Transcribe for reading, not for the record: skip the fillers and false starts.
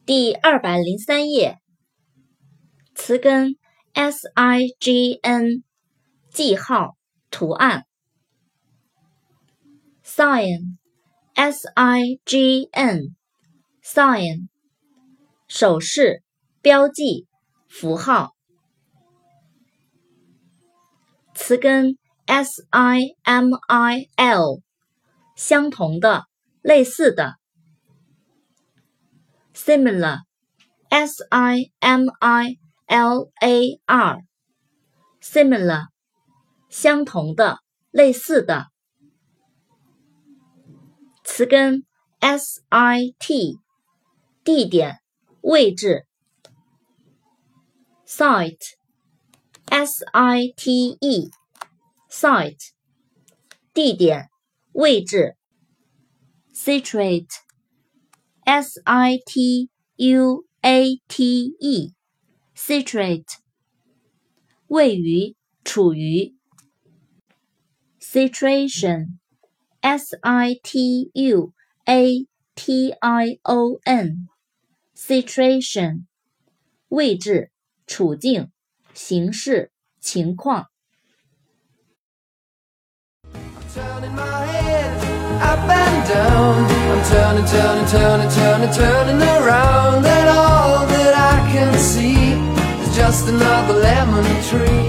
第203页，词根 sign 记号图案 sign sign 手势标记符号，词根 simil 相同的类似的 similar similar 相同的类似的，词根 sit 地点位置 site site 地点位置 situate situate 位于处于 situation situation 位置处境形势情况。 Turning my head up and down, I'm turning around, and all that I can see is just another lemon tree.